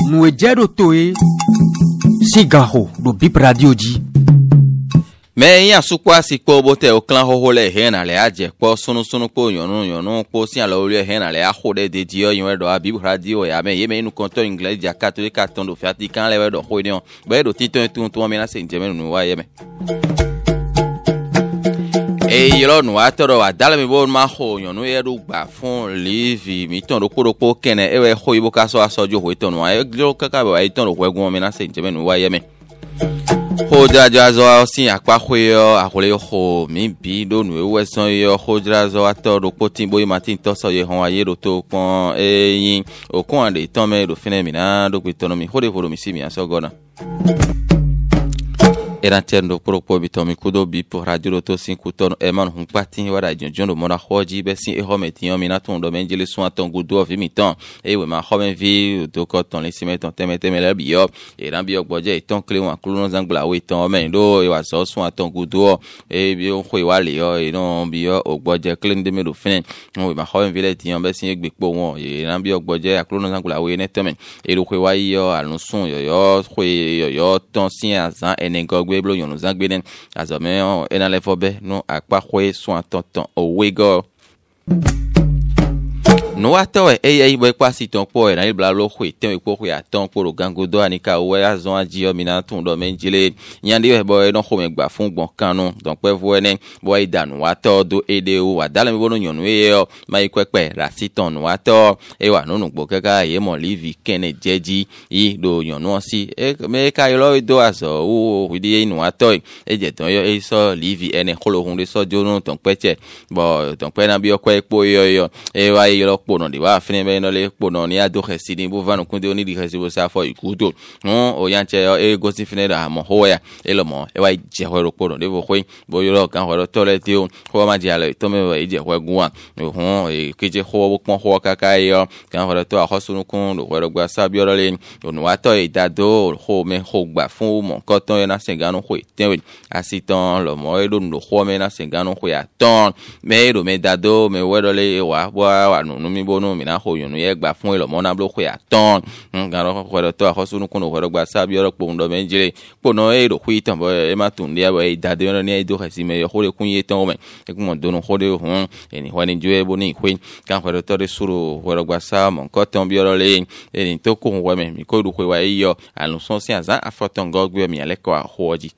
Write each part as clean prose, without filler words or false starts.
Mouedjado Toe Sigaho do Bip Radio Di. Mais yan sukwa si ko bote o clan ho le hena le aje ko sunu ko yonu ko si ala ole hena le ahode de dio yin do Bip Radio ya me yeme nu konto anglais ja catholique ton do fiati kan le do ho ni on be do titon tu me na se njeme nu wa yeme e yoro nu atoro adala mi bo ma ho yonu ye do gba fun live mi ton do poropo kene e we ho ibo ka so asojo ho ton wa e glo kaka ba e ton do wegun me na se njeme nu wa yeme Hodrazo si akwa khoyo akole ho mi bi do nu weson yo hodrazo atoro potin boy matin to so ye hon aye ro to pon eyin okun ande ton me do fine mi na do pitono mi hode foro mi si mi aso gona era tendo propos bitomi kudo bi pour radio to 5 ton e man hun patin wara jonjon do mona hoji be sin e hometi on minaton do menjele so aton gudo vi mitan e we ma homen vi do ko ton le simeton temete mele bi yo e ran bi yo gboje iton kle won akulu zangla we ton men do e wa so so aton gudo e bi o ho wa le yo e no bi yo ogboje clean de me do fin we ma homen vi le ti on be sin egbe po won e ran bi yo gboje akulu zangla we ne temen e do ho wa yo alunsun yo yo ton sin azan enengo blo yon zangbenen azame ena le fobe no akpa khwe so atonton owego no ato e boy kwasi ton po na ibla lo khwe ten e po khwe aton po ro gangodo anika we azon aji o mina tun do menjile nyande we boy no khome gba fun gbon kanu donc pe vo ene boy danu ato do ede o adala mi bono yonu e yo mai kwepe rasiton no ato e wa nunu gbo kaka ye mo live kene jeji yi do yonu si e me ka yo do aso o widi inu ato e je ton yo e so live ene kholo hunde so jono ton peche bo ton pe na bi o kwe po yo e wa yo pono di wa fini be no le pono ni ado khesi ni bo vanu kunde oni di khesi bo sa fo ikudo o yanche e go si fini da mo hoya e lo mo e wa je ho ro pono de bo khoi bo yo kan ho ro tole ti o ho ma je ale to me wa je ho gwa ho e keje ho bo pon ho kaka yo kan ho ro to ho sunu kun do ho ro gba sa bi ro le onu wa to e dado ho me ho gba fun mo ko to na senganu ho ten asiton lo mo e do ndo ho me na senganu ho ya ton me do me dado me we ro le wa nu mi bono mi na ho yunu ye gba fun ilo mo na blo ko ya ton ngaro ko to akosunu kuno ko gba sabi oro po ndo menjire po no e ro hui tan bo e ma tun dia bo e dade no ni e do khasi me yo hore kun ye ton me e kun do no hore hun eni wani jue bo ni hui kan ko to re suru ko gba sa mo ko ton bi oro le eni to ko wa me mi ko du ko wa yo anu son si azan afoton go gbe mi ale ko hoji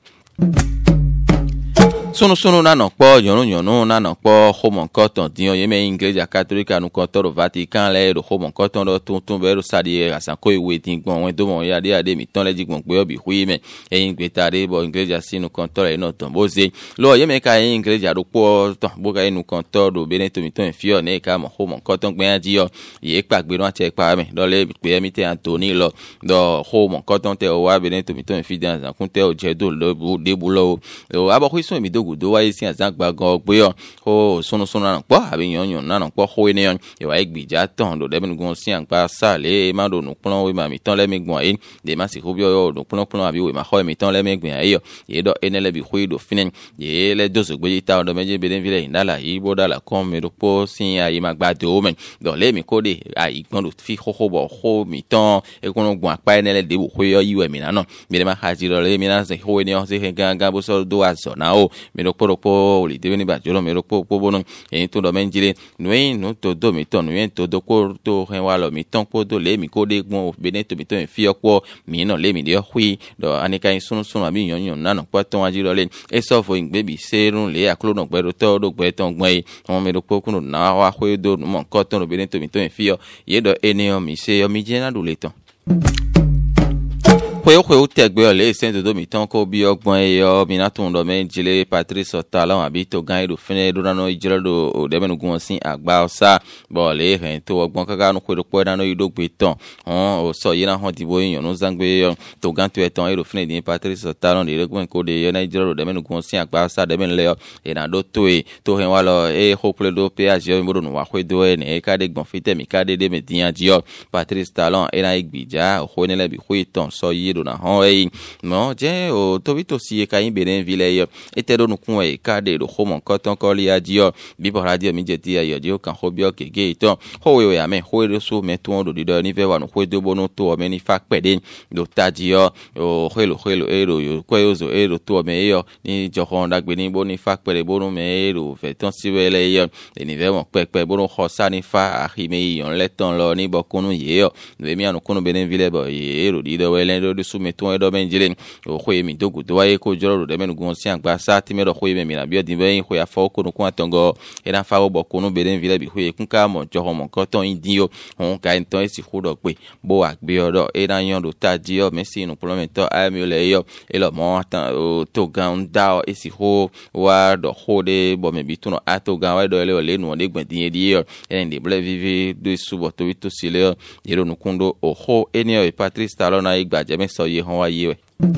Sono na no po yonu na no po homo koton dion yeme Iglesia Católica no kontoro Vatican le ro homo koton do tun be ro sadi asan ko iwe tin gbon won do mo ya de mi ton le jigbon pe obi hui me eyin gbetare bo Iglesia sinu kontoro no ton boze lo yeme ka Iglesia ro po ton bo ka inu kontoro Benito mi ton fio ne ka mo homo koton gbe aji yo ye pagbe ron ate pa me do le pe mi te Anthony lo do homo koton te o wa Benito mi ton fi dan kun te o je do lo de bulo o abo hui so mi do wa isi azagba gan ogbe yo o sono na po abi yon na po ho ene yon e wa igbija ton do de ben gun si anpa sale ma do nu plon we ma mi ton le mi gbon e de ma si ho bi yo do plon abi we ma ho mi ton le mi gbon e yo ye do ene le bi hui do finen ye le do so gbe ta do meje beden vile indala yi bo dala kon mi do po si ayi ma gba de o men do le mi ko de ayi gbon do fi ho bo ho mi ton e kun gbon apa ene le de bo hui yo yi we mi na no mi le ma haji do le mi na se ho ene yo se gan bo so do aso na o mi do po li de ni ba jolo mi ro po bono e to do menjire no to do mi ton no to do ko to hen wa lo mi ton po do le mi ko de gbon Benito mi ton fi opo mi no le mi de hui do anika sunu abi yon na no po ton ajiro le e so fo ingbe bi serun le aklo no gbe ro to do gbe ton gbon e won mi ro po kunu na wa hui do mo ko ton Benito mi ton fi o ye do eniyan mi se o mi je na do le ton Kwe tegbe le sento do mi ton ko bi ogbon e yo mi na tun do menjile Patrice Talon abi to gan do fene do na no ijiro do de menu gun sin agba osa bo le hen to ogbon kaka no kwe po na no ido gbe ton o so ye na hon ti bo yan no zangbe yo to gan to eton e do fene din Patrice Talon de gun ko de yo na ijiro do de menu gun sin agba osa de men le yo e na do to hen wa lo e hople do page yo mo do no wa kwe do e ne ka de gbon fite mi ka de me din aji yo Patrice Talon e na igbija o ne le bi kwe ton so ye do na ho no je o to bi to si e ka yin beren ville yo ete do nukun e ka de do ho mon koton ko li adio Bibo Radio mi je ti ayo je o kan ho bi o kege ito ho we ya me ho e so me to do do ni ve wa no ho do bo no to me ni fa pede do tadio o helo ero yo kwezo ero to me yo ni jo honda gbe ni bo ni fa pede bo no me ero fe ton si we le yo ni ve mo pepe bo no ho sa ni fa ahime yon le ton lo ni bo kunu ye yo we mi anu kunu benen ville bo ye ero di do we le do su me to do benjile o ho mi dogu do wa ye ko joro do me gun si angba sa ti me do ho me mi na bi di be ho ya fa ko no kun atongo e na fa bo kunu benen ville bi ho ye kun ka mo jo ho mo ko ton indio on ka enton si ho do pe bo agbe odo e na yon do taji o me si no prometo a mi le yo e lo mo tan o to gan da e si ho wa do ho de bo me bi tu no ato gan wa do le no de gbon din di yo e ndi ble vivi do subo to to si le yero no kundo o ho eni o Patrice Talon na igbaje me so ye hon wa ye we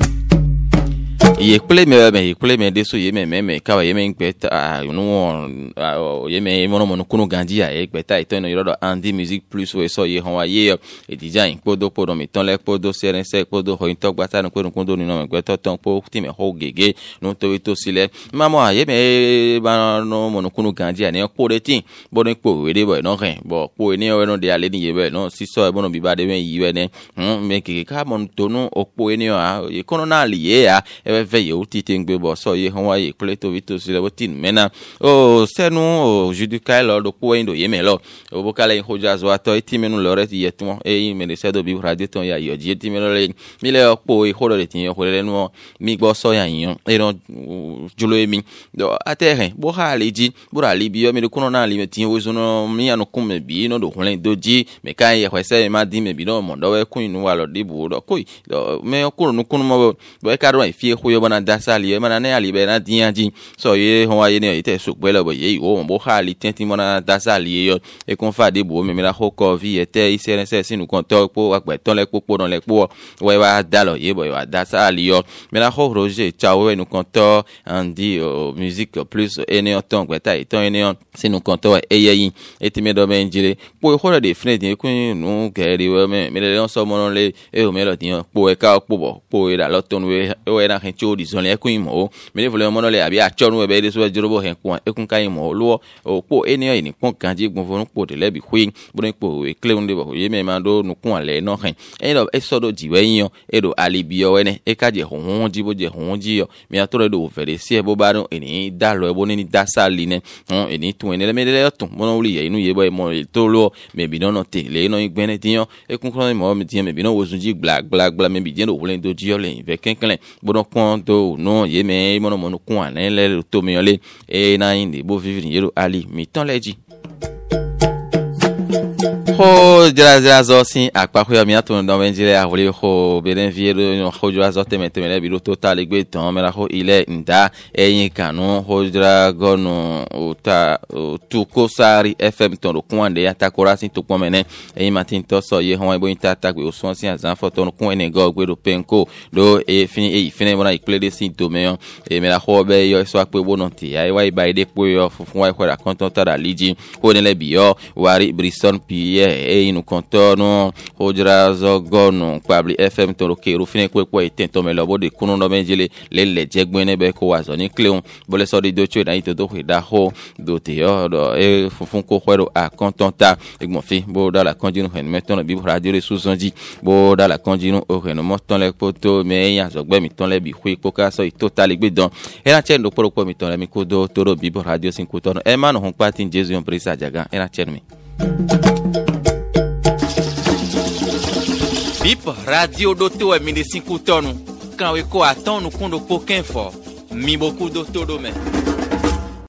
ye kule me de so ye me ka wa ye me ngpeta no ye me mono kunu ganji ya ekpeta ito no yoro Andy Music Plus we so ye hon wa ye e design podo mi ton le podo serense podo ho intok gbata no kundo ni no me gbeto ton po ti me ho gege no to sile mamo ye me ba no mono kunu ganji ya ne po de tin bo ni po we de bo no ren bo po ni o no de ale ni ye be no si so e bo no bi ba de me yi we ne me ke ka mon to no o po ni o a ye kono na li ye a ve ye uti tengbe bo so ye hon wa ye pleto vito sile botin mena o senu o judikai lo do po endo ye me lo o bokala in hoja zo ato iti menu lo re ye ton e me de sedo bi radio ton ya yo je ti me lo le mi le po e hodo de tin yo le no mi gbo so ya yin e no julo e mi do aterren bo ha le ji bo ra li bi yo me de kuno na li me tin wo zo no mi anu kum me bi no do holen do ji me kan ye kwese ma di me bi no mo do we kun nu wa lo di bu do koi do me kuno nu kuno mo bo e ka do e fie yo bana dasali mana ne ali be na dianji so ye hon wa ye ne ite so gbele bo ye o mo ha li tenti mona dasali yo e kon fa de bo me la ho ko vi ete iserense sinu kon to po wa pe ton le popo don le po we wa dalo ye bo wa dasali yo me la ho Roger chawe nu kon to Andy Music Plus ene ton gbeta iton ene sinu kon to e ye yin eti me do benjire po ho de friend ye kun nu geri we me le on so mo le e o me lo tin po e ka po e da lo ton we na cho di zon le ku imo me le vole mo no le abi a cho nu be de so juro bo hen ku e kun ka imo lo o po eni ni pon kanji gun fo nu po de le bi hu bo ni po e kle un de bo ye me ma do nu kun le no hen e lo e so do ji we yin e do ali bi o we ne e ka je hon ji bo je hon ji yo me a to le do fere si e bo ba no eni da lo e bo ni da sali ne eni tun eni le me le tun mo no ri ye inu ye bo e mo to lo me bi no no te le no igben ne tin yo e kun kro mo me tin me bi no wo sun ji bla me bi je do wo le do ji yo le ve kenken bo no kon do no ye me mono kun ane le to me ole e na indi bo vivre yero ali mi ton leji ho jira zo sin akpa ko mi atun do benjire a wole ho beren viero no ho jira zo teme le bi total egbe ton me la ho ile nda eyin kanu ho jira gonu uta tu ko sari fm ton kun ande atakora sin to pon mene eyin matin to so ye hon ebo inta atakwe o so sin azan fo ton kun ene go gbe do penko do e fini bona iklede sin to me e me la ho be yo so ape bo non ti ai wa iba ide po yo fun wa ko ra konton ta da liji ho ne le bi yo wari brison pi e inu kontorno hojra zogonu kwabli fm to ke rufine kwe tento me lobo de kunu no benjele le jegbene be ko wazo ni cleon bole so de do tue na ito do da ho do te yo do e fufun ko kwero a kontonta egbon fi bo da la konjinu hen meton bi radio resuzonji bo da la konjinu o hen mo ton le poto me yan zogbe mi ton le bi hu ko ka so total egbe don e na chen do poro mi ton le mi ko do toro bi radio sin ko ton e manu hon patin jesu on prisa jaga e na chen mi Bip radio doto e mine 5 tonu. Quand we ko atonu kundo poken fo. Mi beaucoup doto do men.